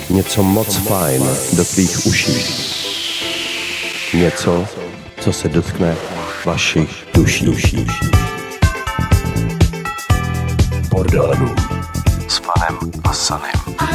něco moc fajn do tvých uší. Něco, co se dotkne vašich duší. Bordelů s Fanem a Sanem.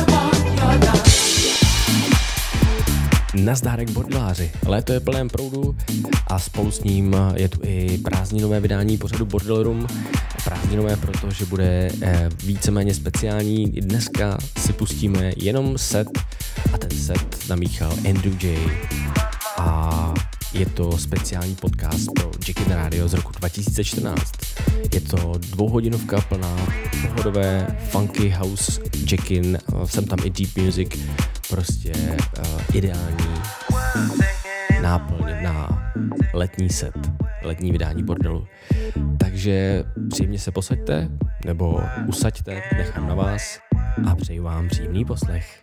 Nazdárek bordeláři. Léto je plném proudu a spolu s ním je tu i prázdninové vydání pořadu Bordel Room. Prázdninové, protože bude víceméně speciální. Dneska si pustíme jenom set a ten set namíchal Andrew J. A je to speciální podcast pro Jackin Radio z roku 2014. Je to 2hodinovka plná pohodové funky house Jackin, jsem tam i deep music, prostě ideální náplň na letní set, letní vydání bordelu. Takže příjemně se posaďte, nebo usaďte, nechám na vás a přeji vám příjemný poslech.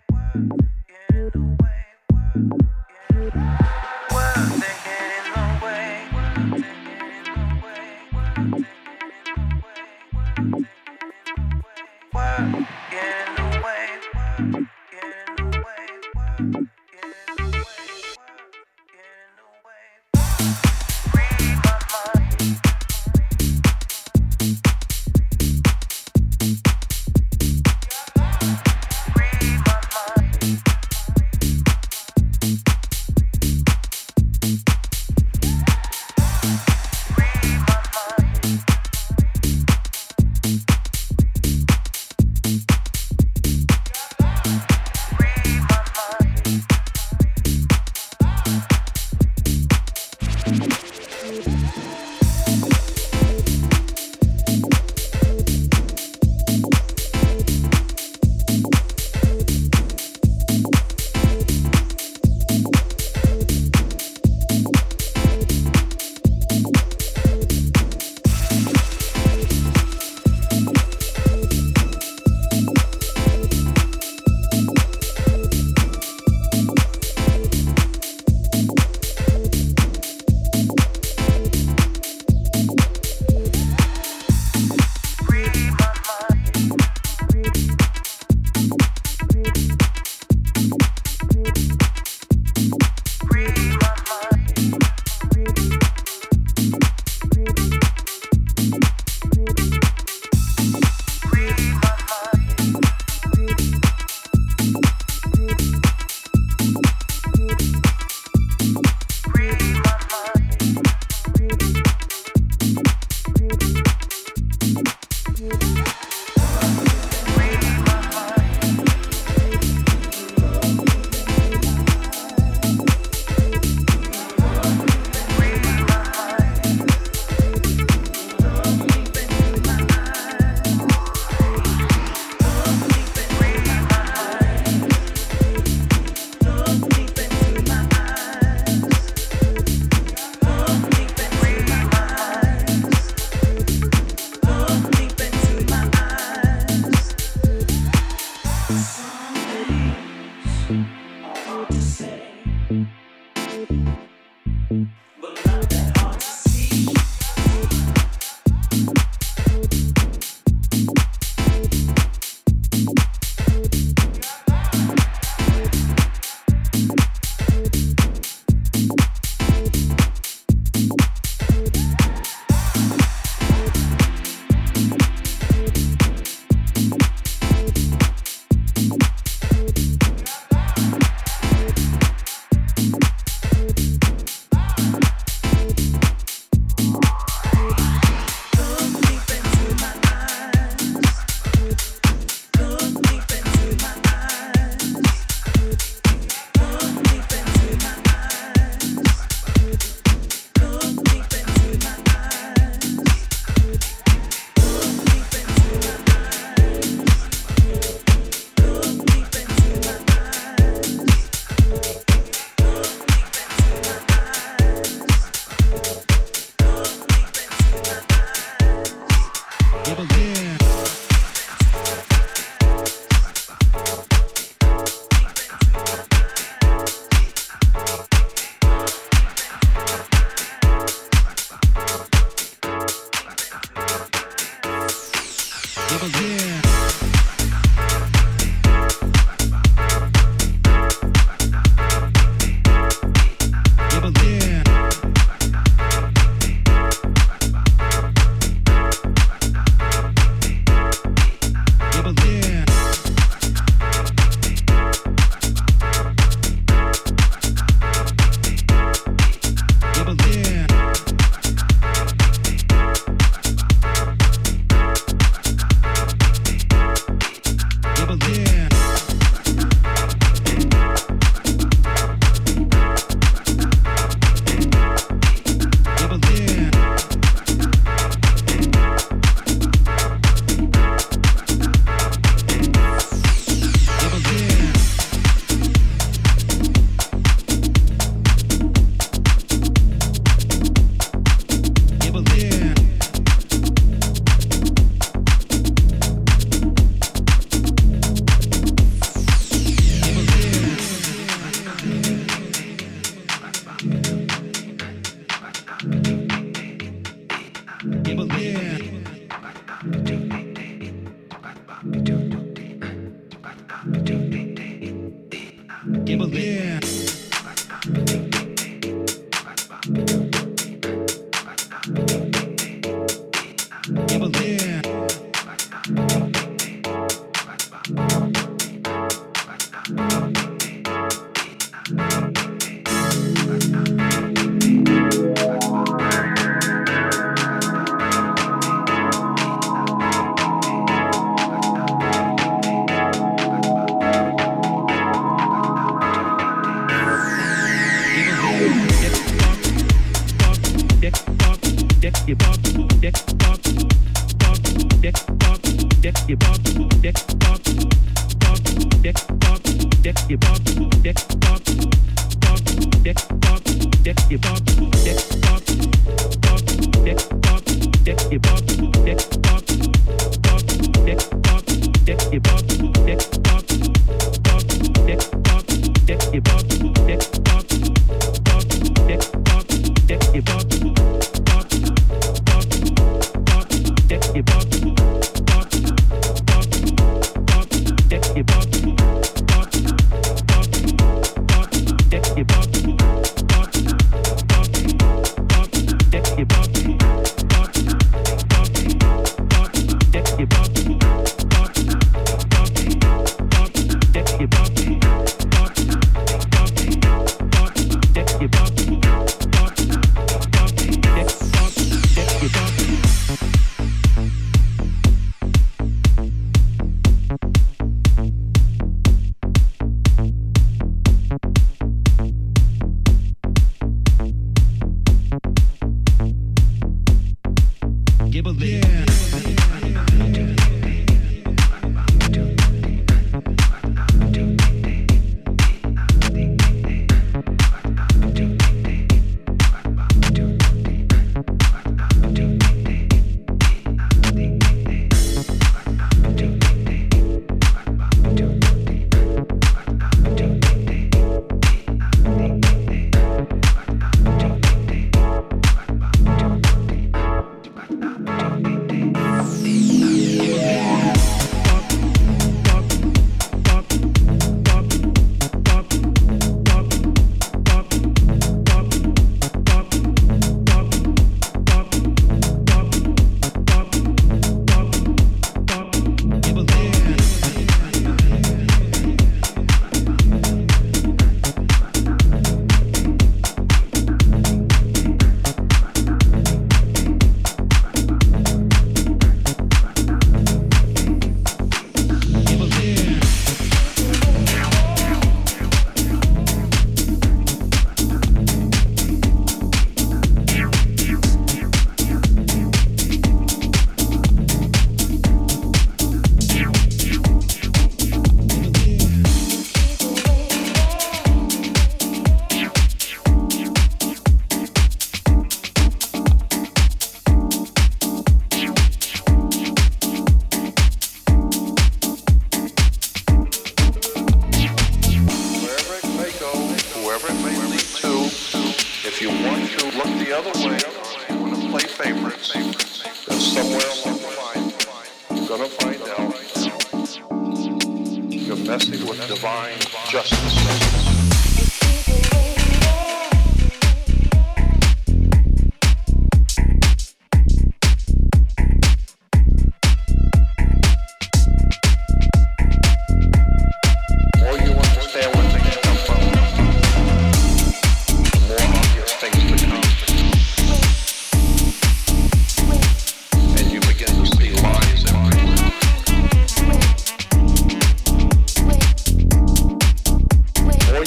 more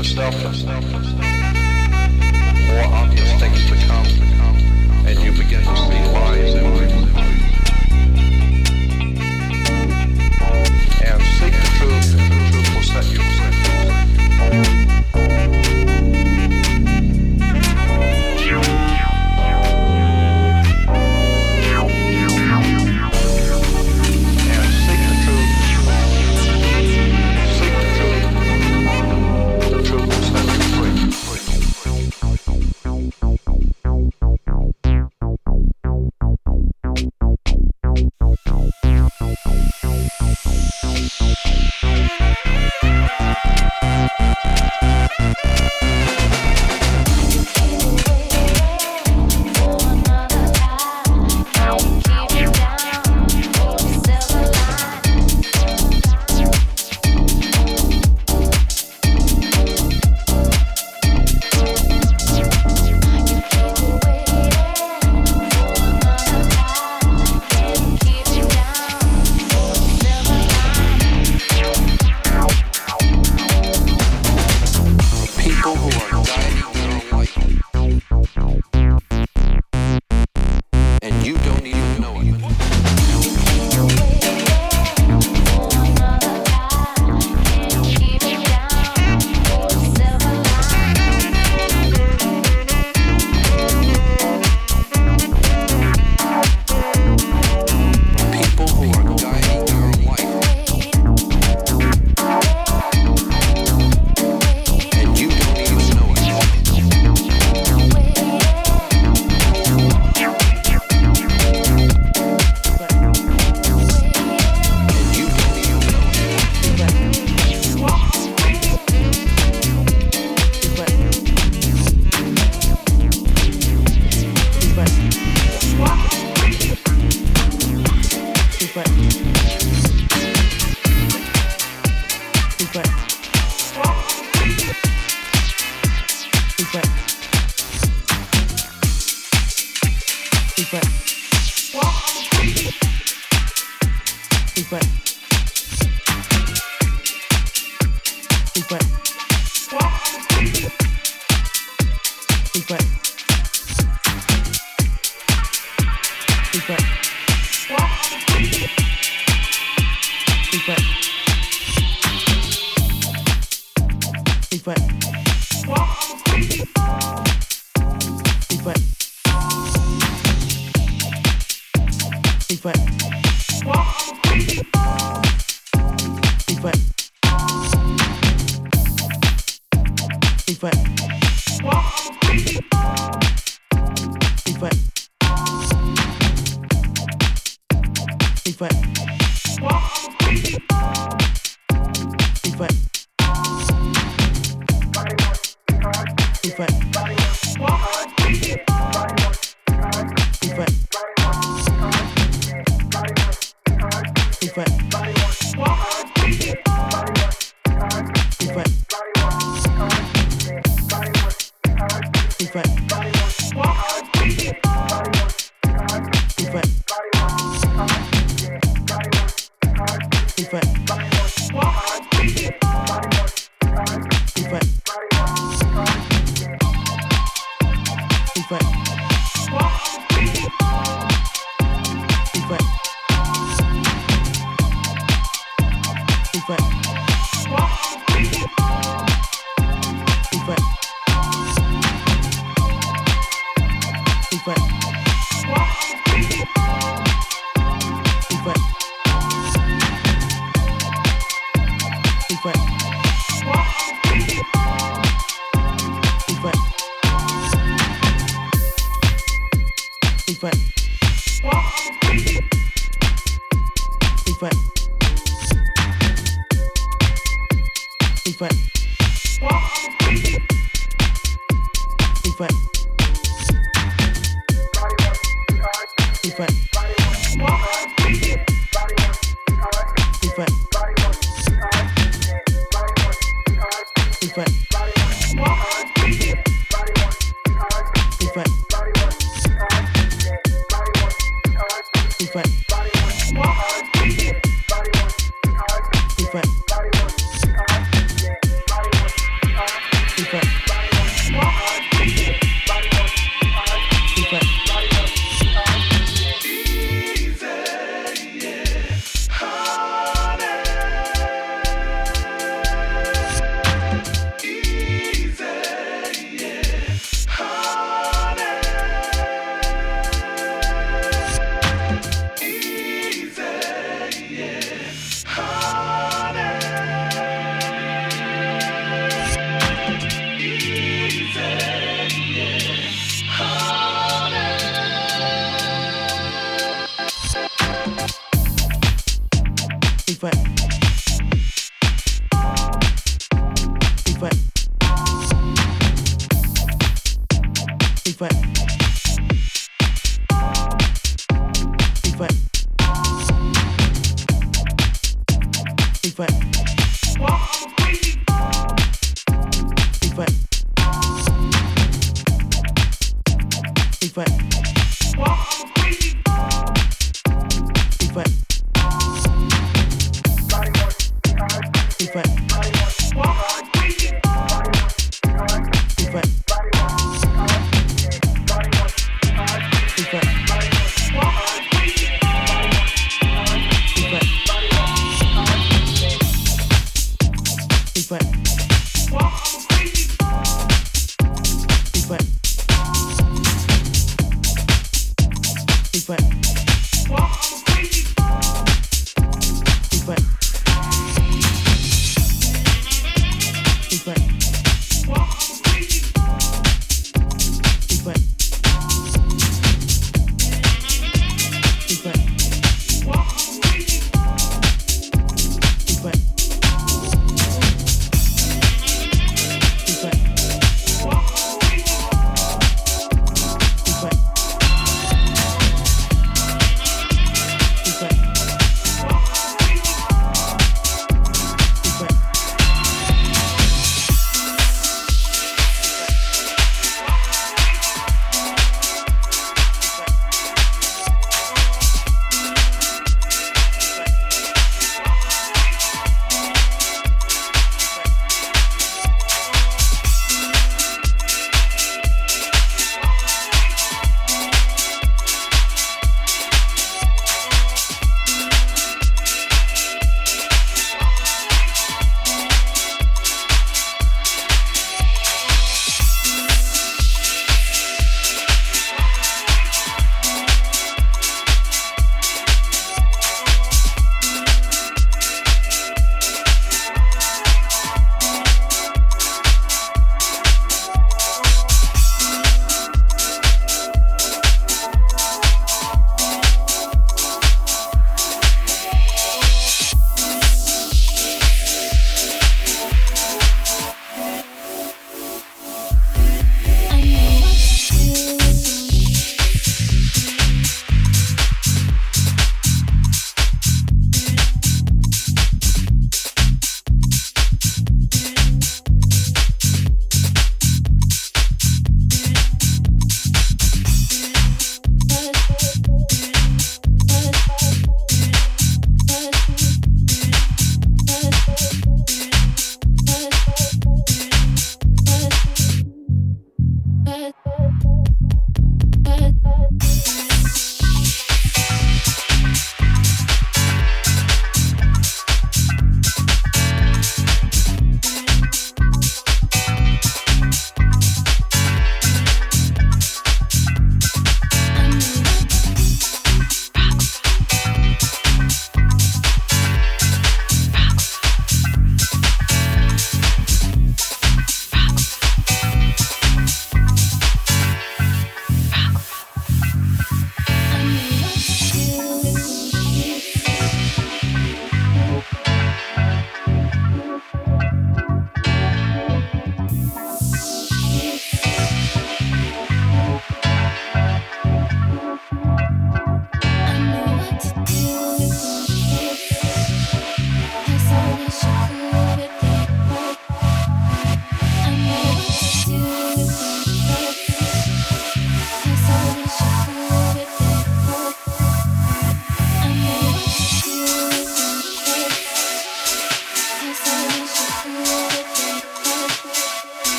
yourself, more obvious things become, and you begin to see lies in life. And seek the truth, and the truth will set you free.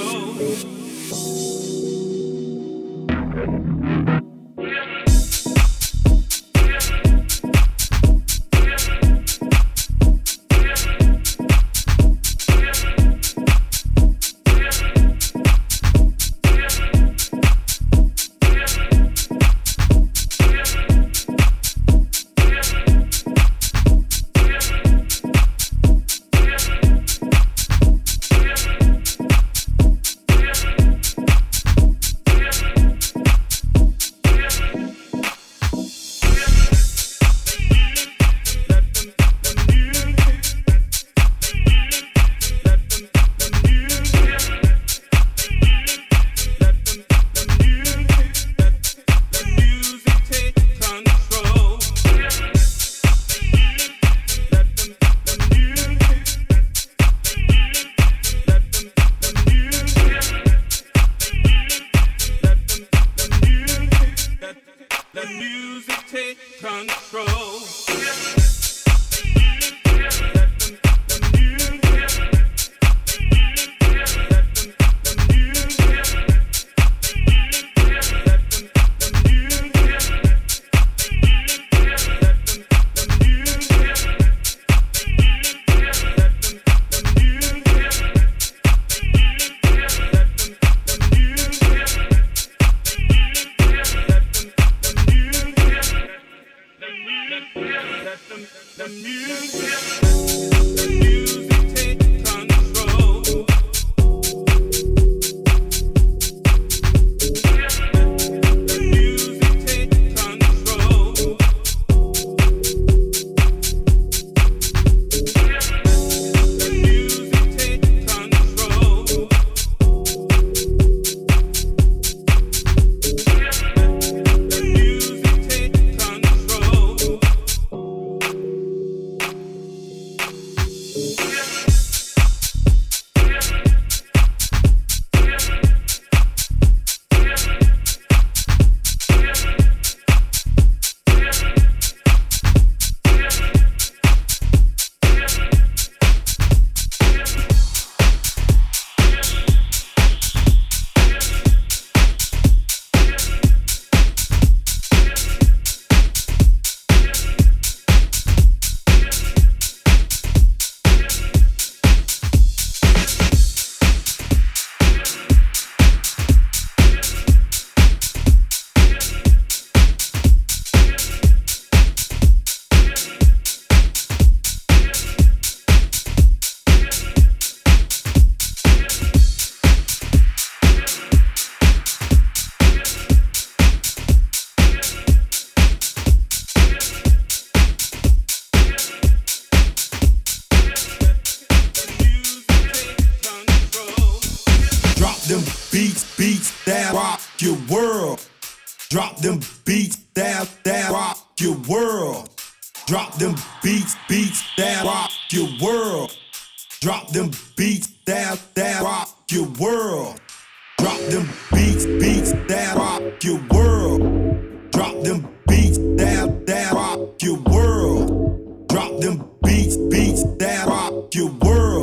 Drop them beats, that rock your world. Drop them beats, that rock your world. Drop them beats, that rock your world. Drop them beats, that rock your world. Drop them beats, that rock your world. Drop them beats, that rock your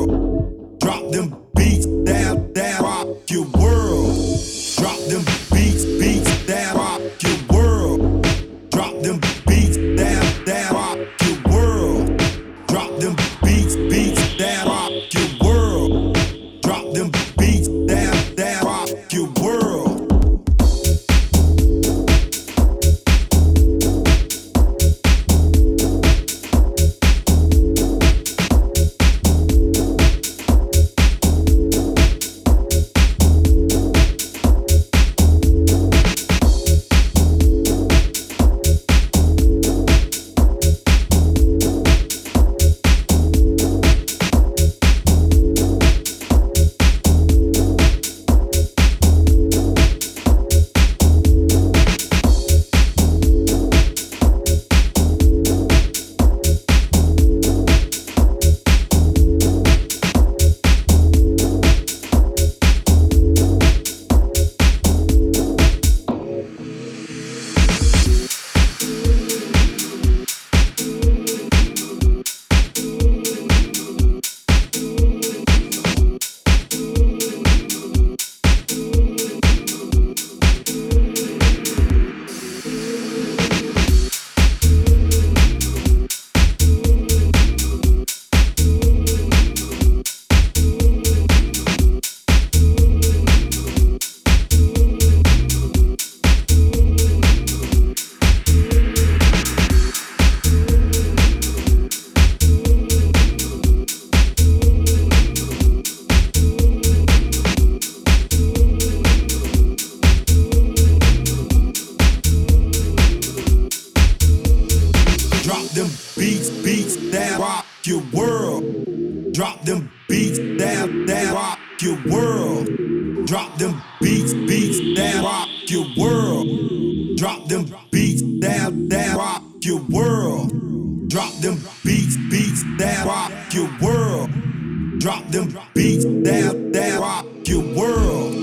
world. Drop them beats, that rock your world. Drop them beats, that rock your world. Drop them beats, that rock your world. Drop them beats, that rock your world. Drop them beats, that rock your world. Drop them beats, beats that rock your world. Drop them beats that rock your world. Drop them beats, beats that rock your world. Drop them beats that rock your world.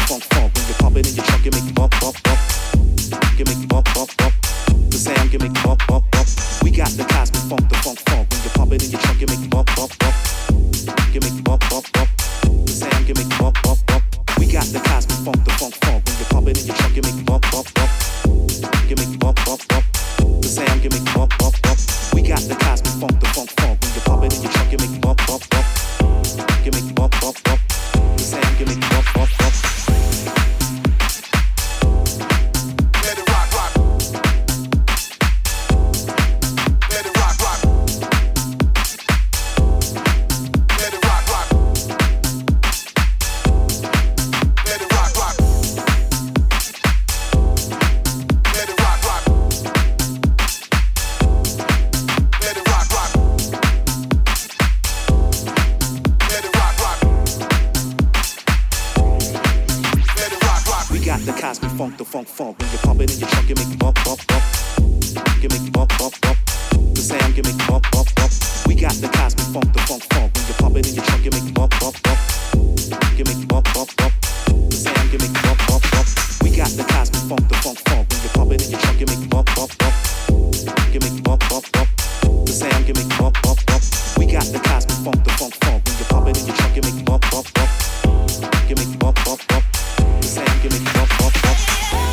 funk, funk. When you pump it in your trunk, you make it bump, bump, bump. You make it bump, bump, bump. The sound, you make it bump, bump, bump. We got the cosmic funk, the funk, funk. When you pump it in your trunk, you make it bump, bump, bump. You make it bump, bump, bump. The sound, you make it bump, bump, bump. We got the cosmic funk, the funk, funk. When you pump it in your trunk, you make it bump, bump, bump. You make it bump, bump, bump. The sound, you make it bump, bump, bump. We got the cosmic funk, the funk, funk. When you pump it in your trunk, you make it bump, bump, bump. You make it bump, bump, bump. The sound, you make it bump, bump, bump. Let it rock, rock. Let it rock, rock. Let it rock, rock. Let it rock, rock. Let it rock, rock. Let it rock, rock. Let it rock, rock. Let it rock, rock. We got the cosmic funk, the funk, funk. When you pump it in your trunk, you make it bump, bump, bump. You make it bump, bump, bump. The sound, you make it bump, bump, bump. We got the cosmic funk, the funk, funk. When you pump it in your trunk, you make it bump, bump, bump. You make it bump, bump, bump. The sound, you make it bump, bump, bump. We got the cosmic funk, the funk, funk. When you pump it in your trunk, you make it bump, bump, bump. You make it bump, bump, bump. The sound, you make it bump, bump, bump. We got the cosmic funk, the funk, funk. When you pump it in your trunk, you make it bump, bump, bump. You make it bump, bump, bump. The sound, you make it bump, bump, bump.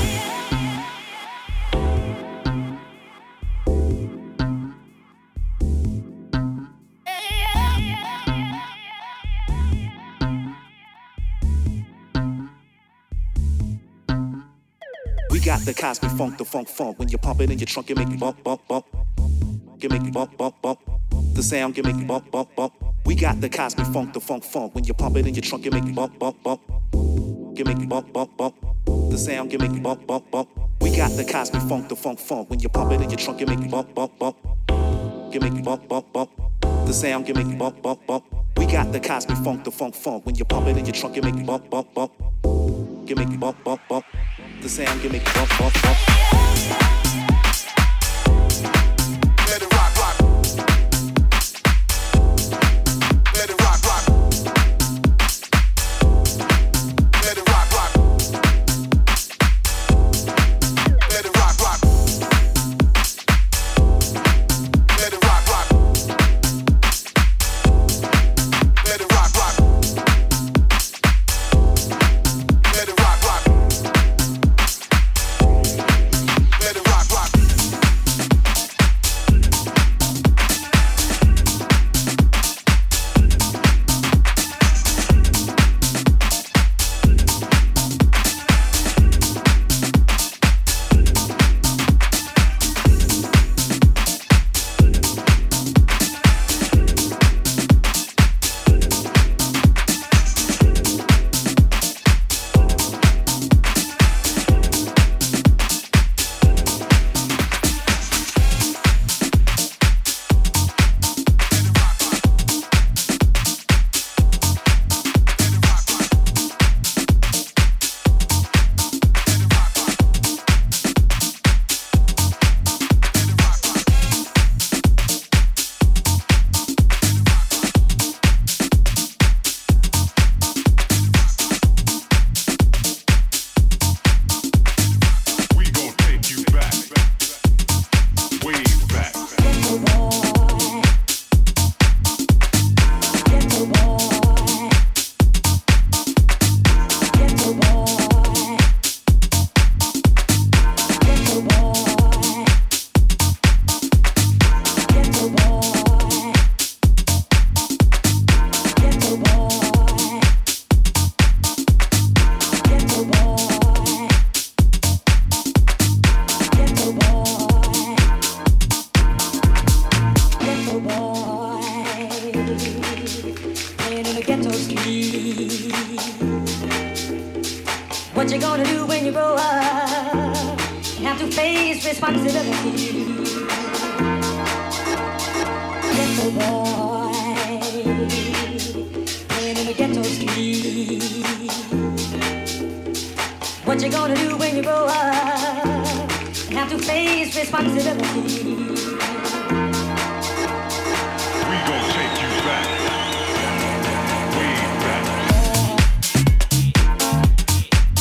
We got the cosmic funk, the funk, funk. When you pump it in your trunk, you make it bump, bump, bump. You make it bump, bump, bump. The sound, you make it bump, bump, bump. We got the cosmic funk, the funk, funk. When you pump it in your trunk, you make it bump, bump, bump. You make it bump, bump, bump. The sound, you make it bump, bump, bump. We got the cosmic funk, the funk, funk. When you pump it in your trunk, you make it bump, bump, bump. You make it bump, bump, bump. The sound, you make it bump, bump, bump. We got the cosmic funk, the funk, funk. When you pump it in your trunk, you make it bump, bump, bump. You make it bump, bump, bump. The sound, you make it bump, bump, bump. Let it rock, rock. Let it rock, rock. Let it rock, rock. Let it rock, rock. Let it rock, rock. Let it rock, rock. Let it rock, rock. Let it rock, rock. What you gonna do when you grow up? You have to face responsibility. Ghetto boy, playing in the ghetto street. What you gonna do when you grow up? You have to face responsibility. We gon' take you back. Way back.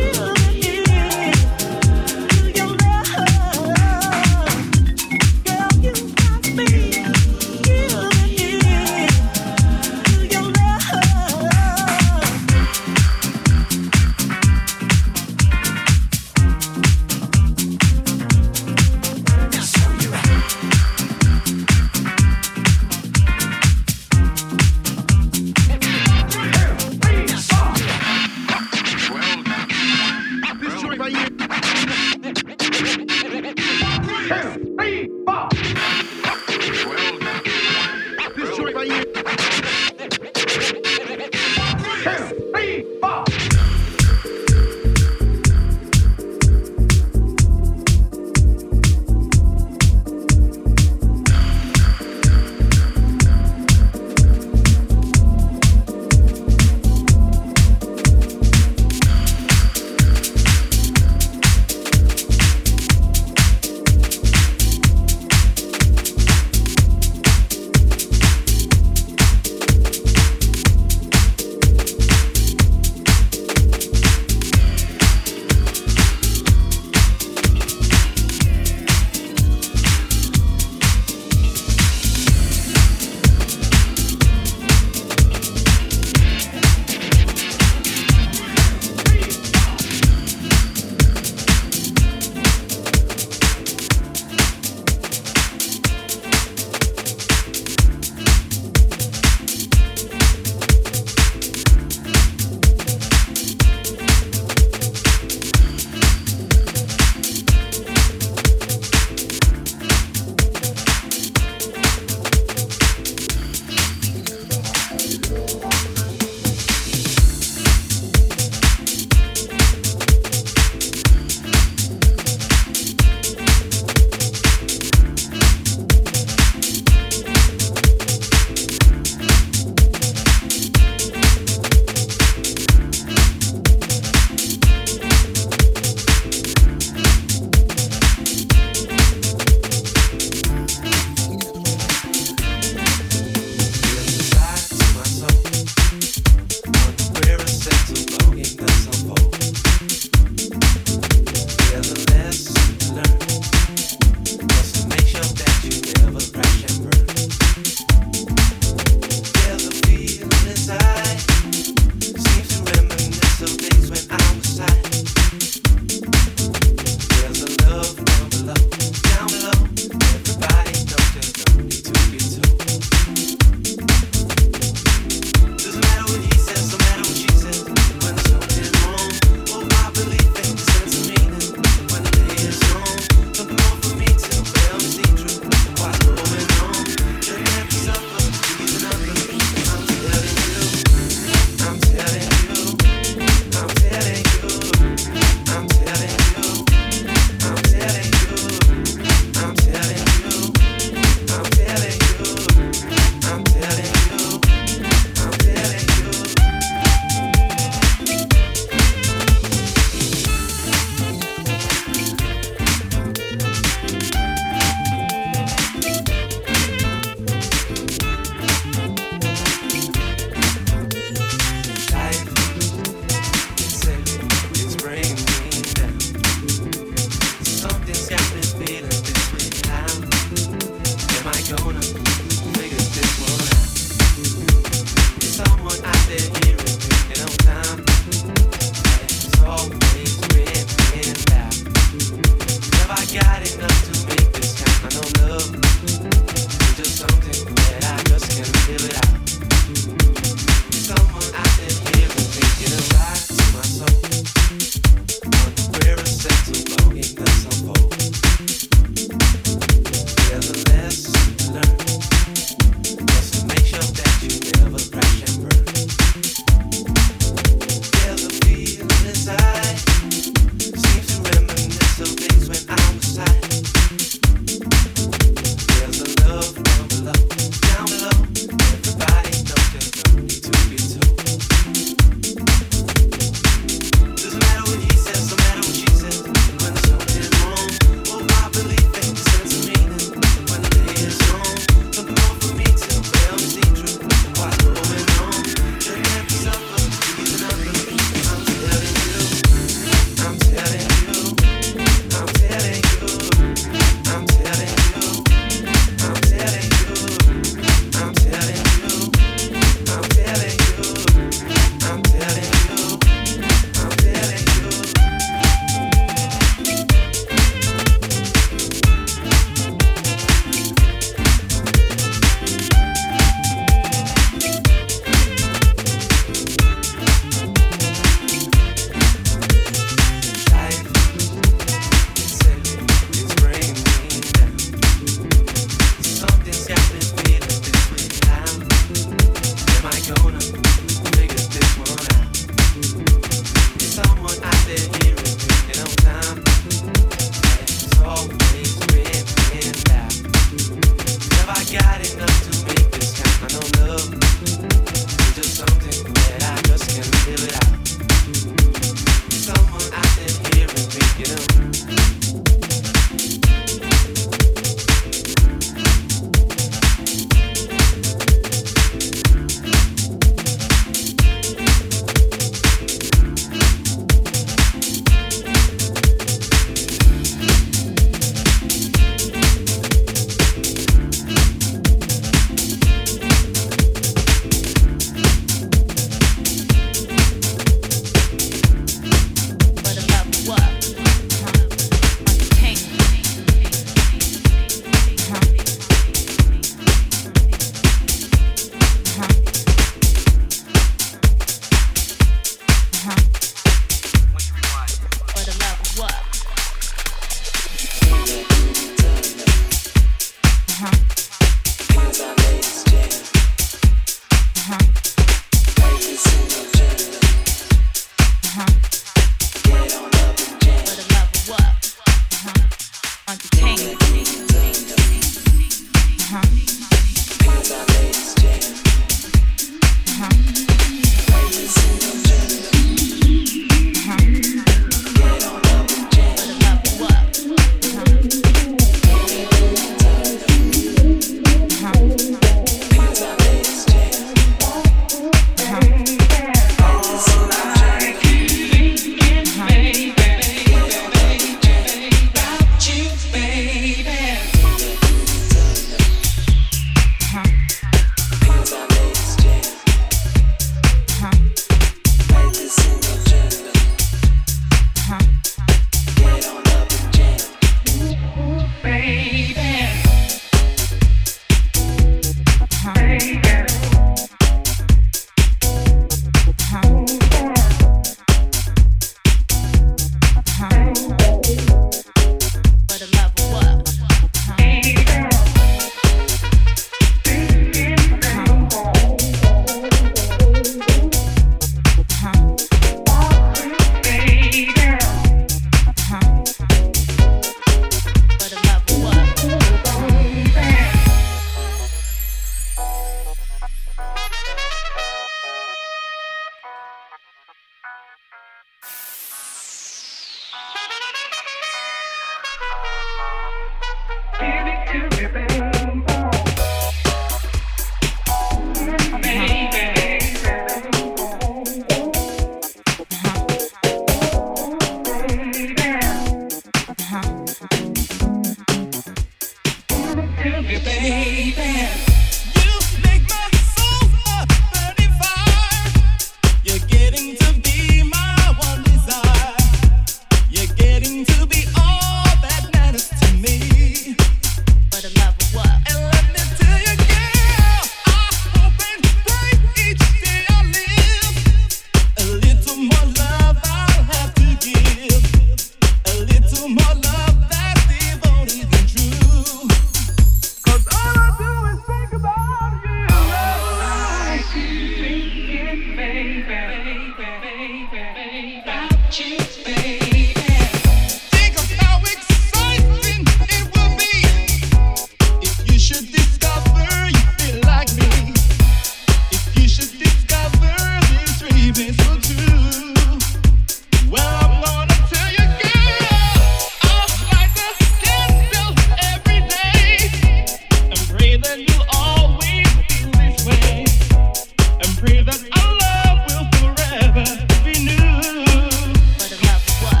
Pray that our love will forever be new. For the love of what?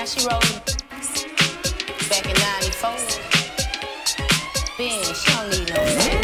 she wrote back in 94. Ben, she don't need no man.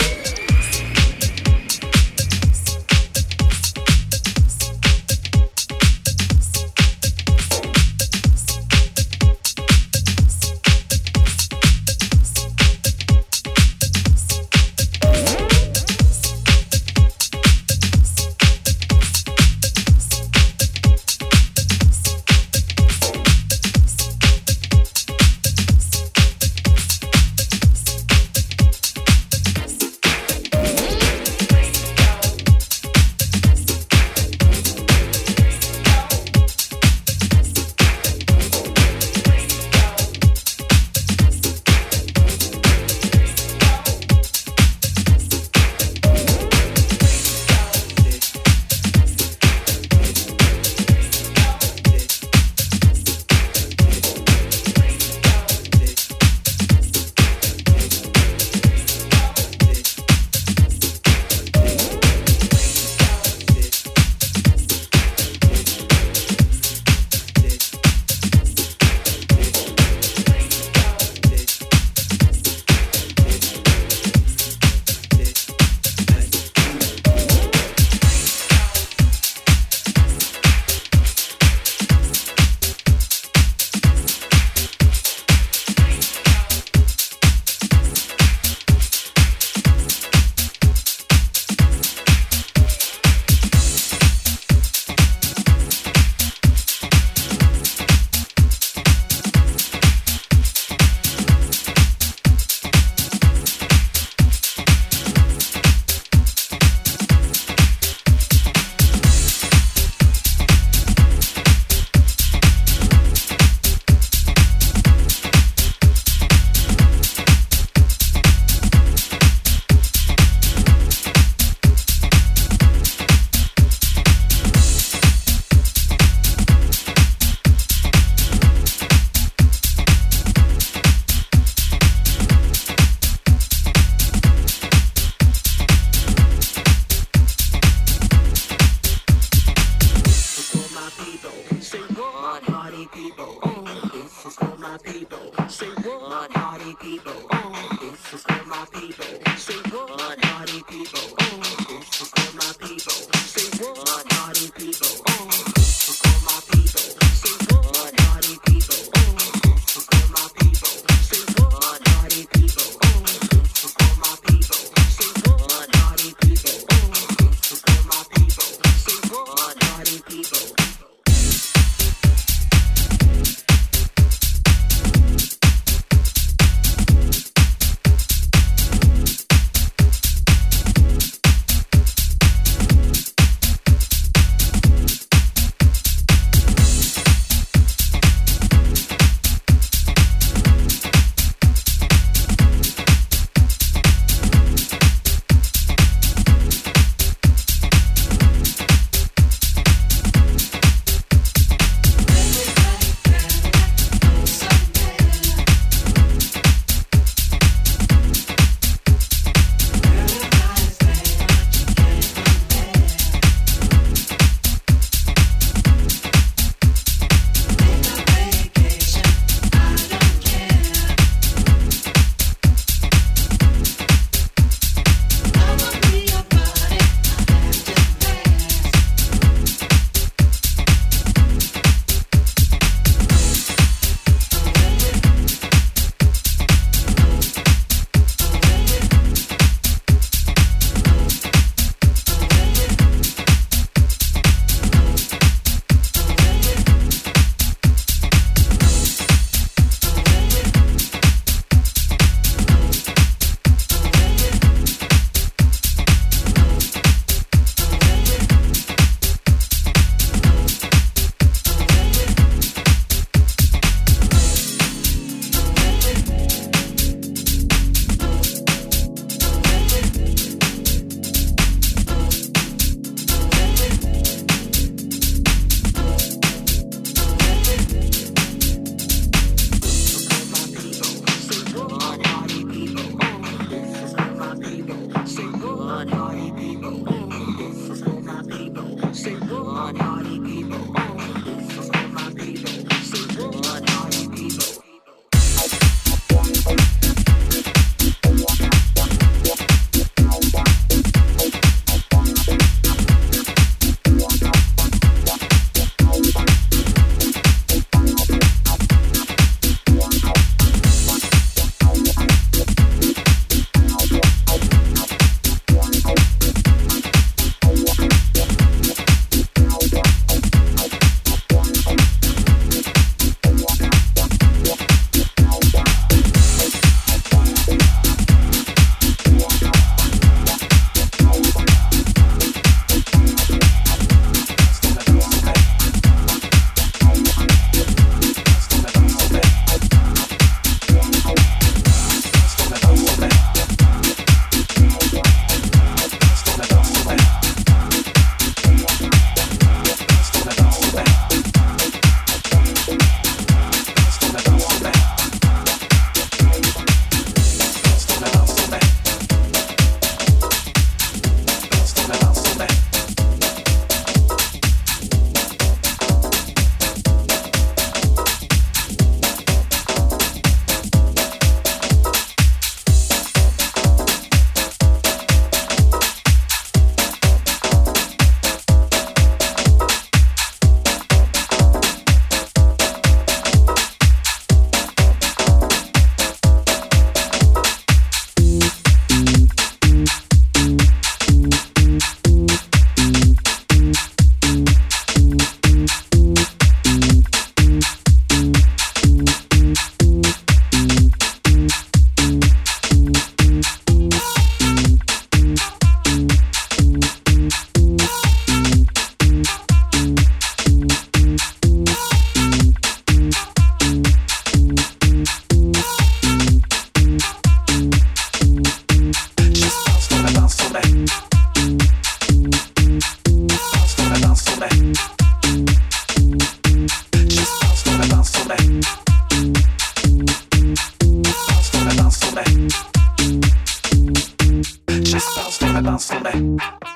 me.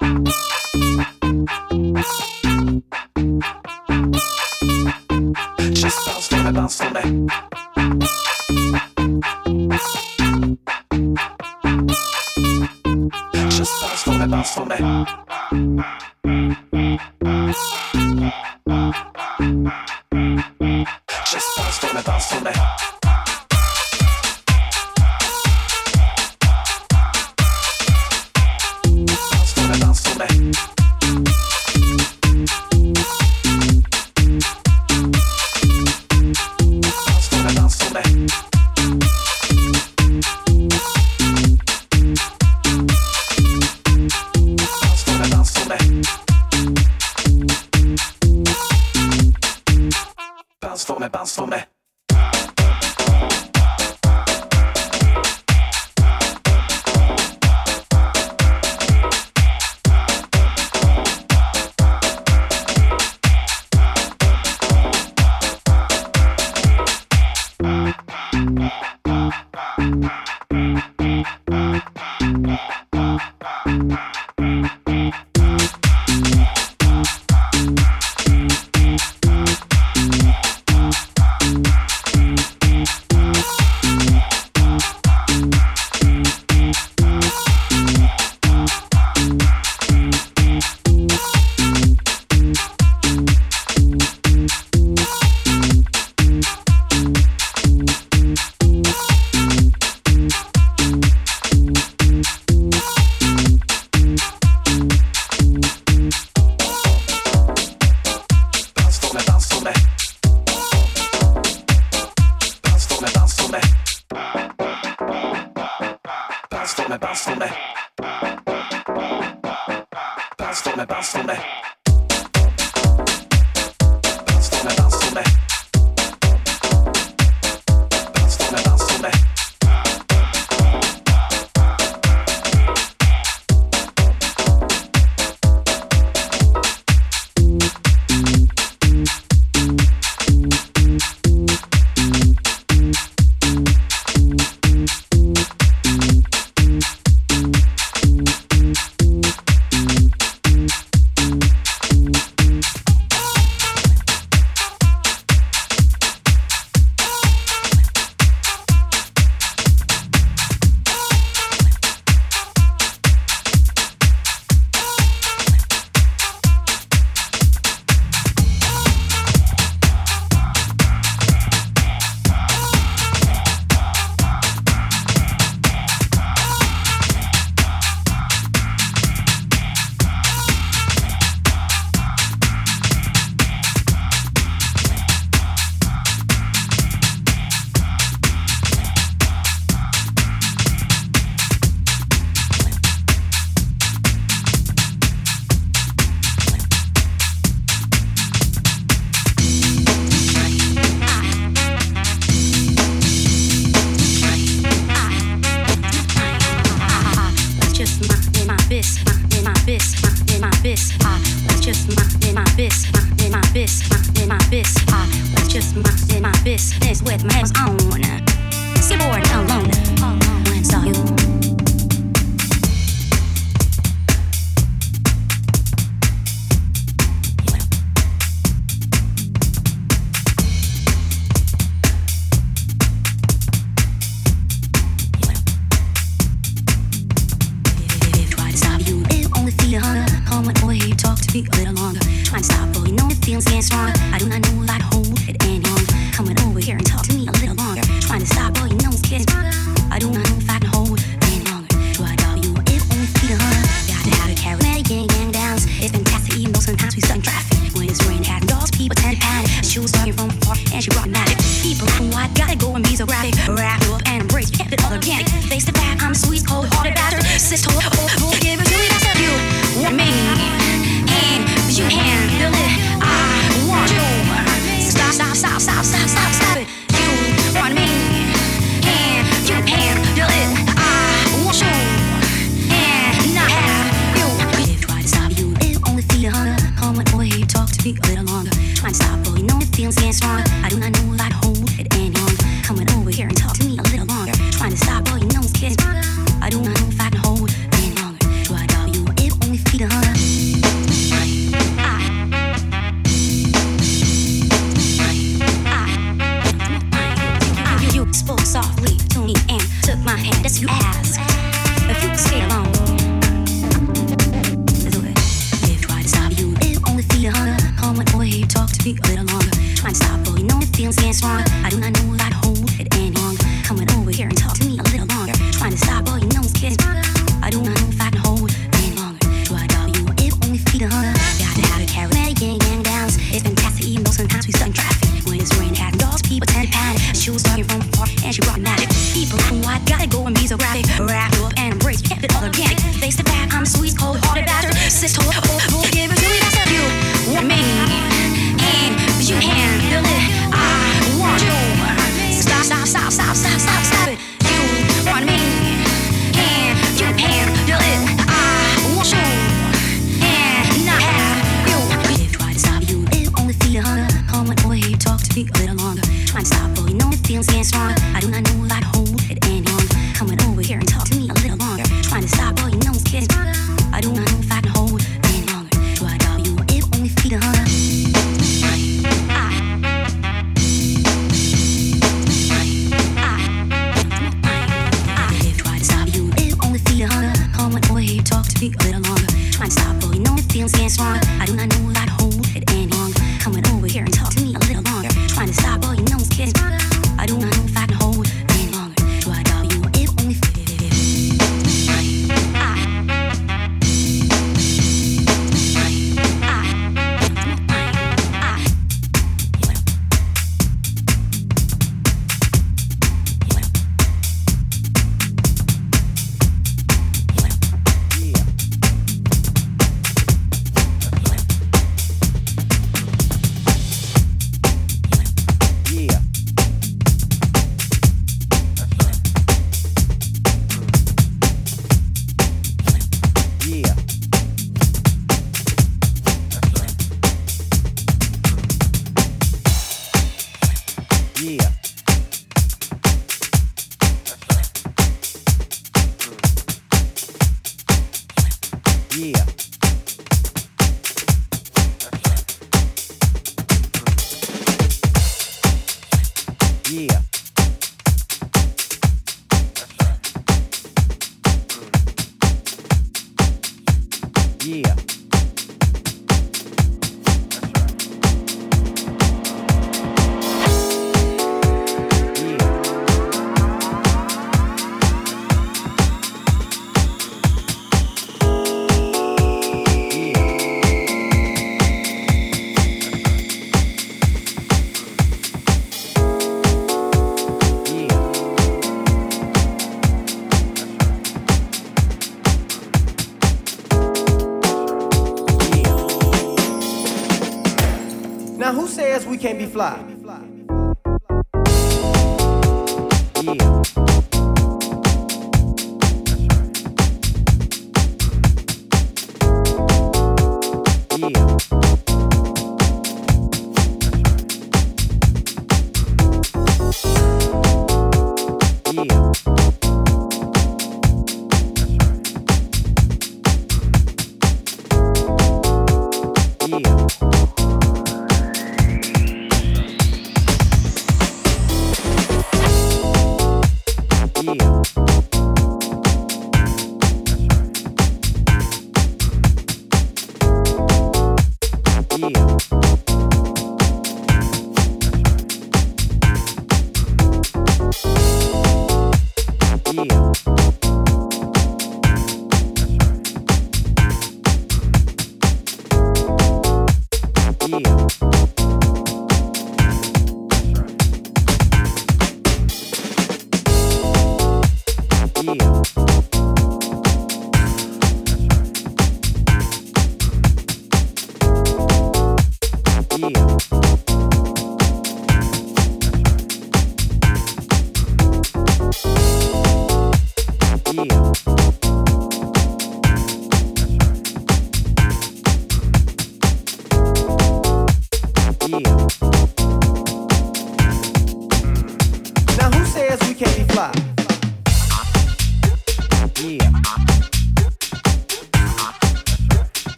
Just bounce for me, bounce for me. Just bounce for me, bounce for me. Just bounce for me, bounce for me. Bounce for me, bounce for me. Bounce for me. Trying to stop all your nose kids. I do not know if I can hold any longer. Do I doubt you? feelings getting stronger. I do not know if I can hold it any longer. Coming over here and talk to me a little longer. Trying to stop all your nose kids. I do not know if I can hold it any longer. Do I doubt you if only feed a hunger? Got to have a charismatic gang downs. It's fantastic even though sometimes we stuck in traffic. When it's raining, having dogs, people tend to panic. She was talking from afar and she brought magic. People from white, gotta go and be so graphic. Wrap up and embrace, kept it all organic. Face to back, I'm sweet, cold hearted bastard. Sis told, oh, give it to me, that's you. Want me, and you handle it. I want you. Stop it. You want me, and you handle it. I want you, and not have you. If try to stop you, it only feed a hunger. Come on over here, talk to me a little longer. Trying to stop, but you know the feelings getting stronger. I do not know if I can hold it any longer. Coming over here and talk to me a little longer. Trying to stop, but you know it's getting stronger. I do not know if I can hold it any longer. Do I doubt you? It only feed a hunger. Talk to me a little longer. Trying to stop, but you know the feelings getting stronger. I do not know if I can hold it any longer. Coming over here and talk to me a little longer. Trying to stop, but you know it's getting stronger. I do not know if I can hold it any longer. Do I doubt you? It only Now who says we can't be fly?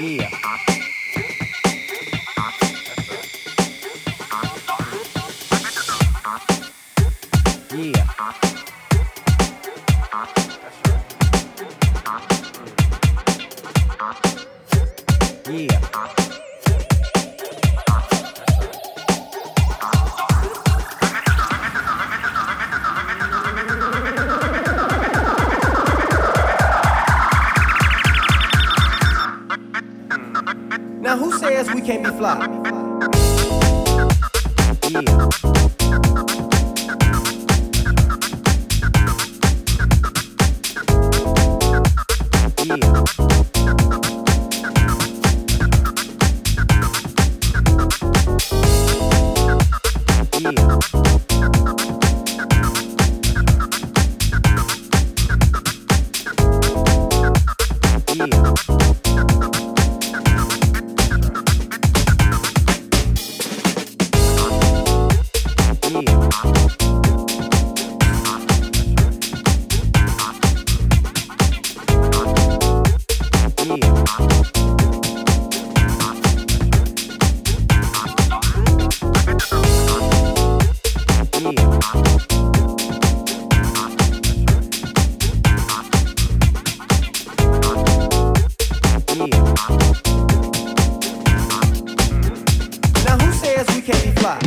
Now who says we can't be fly? Now who says we can't be fly?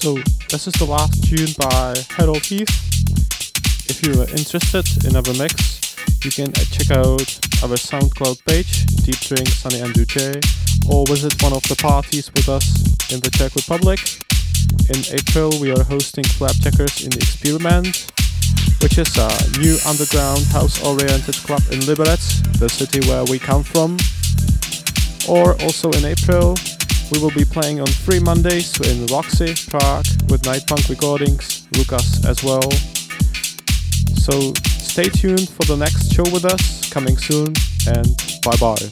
So this is the last tune by Harold Heath. If you are interested in our mix, you can check out our SoundCloud page, Deep Drink, Sunny and DJ, or visit one of the parties with us in the Czech Republic. In April we are hosting Flapjackers in the Experiment, which is a new underground house-oriented club in Liberec, the city where we come from. Or also in April, we will be playing on 3 Mondays in Roxy, Prague, with Night Punk Recordings, Lucas as well. So stay tuned for the next show with us, coming soon, and bye-bye.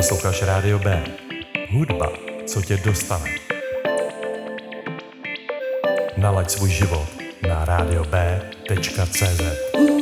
Posloucháš Rádio B. Hudba, co tě dostane. Nalaď svůj život na radiob.cz.